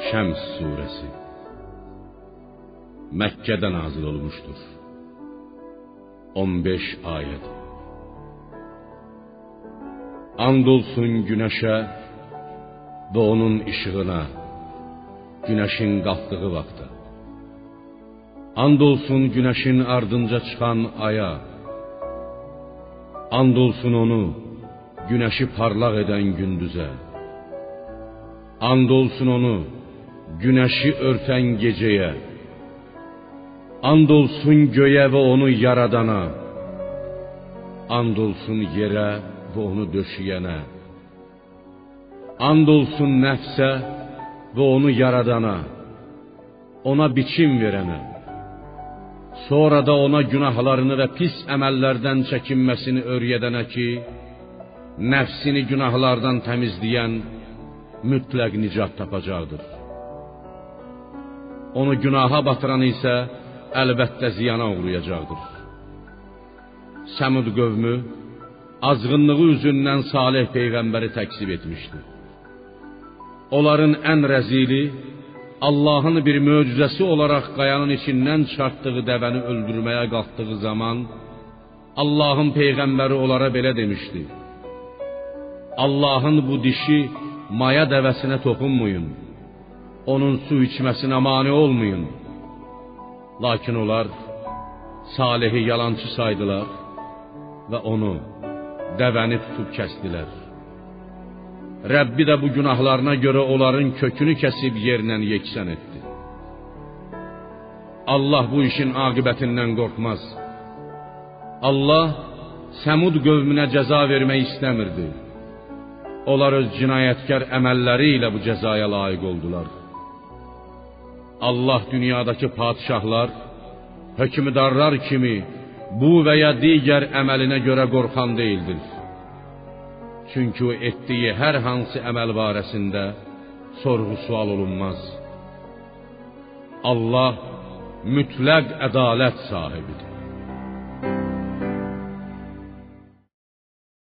Şəms surəsi Məkkədə nazil olmuşdur. 15 ayət. And olsun günəşə və onun işığına, günəşin qalxdığı vaxtda. And olsun günəşin ardınca çıxan aya. And olsun onu, günəşi parlaq edən gündüzə. And olsun onu, günəşi örtən gecəyə. And olsun göyə və onu yaradana. And olsun yerə və onu döşəyənə. And olsun nəfsə və onu yaradana, ona biçim verənə. Sonra da ona günahlarını və pis əməllərdən çəkinməsini öyrədənə ki, nəfsini günahlardan təmizləyən mütləq nicat tapacaqdır. Onu günaha batıran isə əlbəttə ziyana uğrayacaqdır. Səmud qövmü azğınlığı üzündən Salih peyğəmbəri təksib etmişdi. Onların ən rəzili Allahın bir möcüzəsi olaraq qayanın içindən çıxartdığı dəvəni öldürməyə qalxdığı zaman Allahın peyğəmbəri onlara belə demişdi: Allahın bu dişi maya dəvəsinə toxunmayın, onun su içməsinə mane olmayın. Lakin onlar Salihi yalançı saydılar və onu, dəvəni tutub kəsdilər. Rəbbi də bu günahlarına görə onların kökünü kəsib yerlə yeksən etdi. Allah bu işin aqibətindən qorxmaz. Allah Səmud qövmünə cəza vermək istəmirdi. Onlar öz cinayətkar əməlləri ilə bu cəzaya layiq oldular. Allah dünyadakı padişahlar, hökmdarlar kimi bu və ya digər əməlinə görə qorxan deyildir. Çünki o etdiyi hər hansı əməl barəsində sorğu-sual olunmaz. Allah mütləq ədalət sahibidir.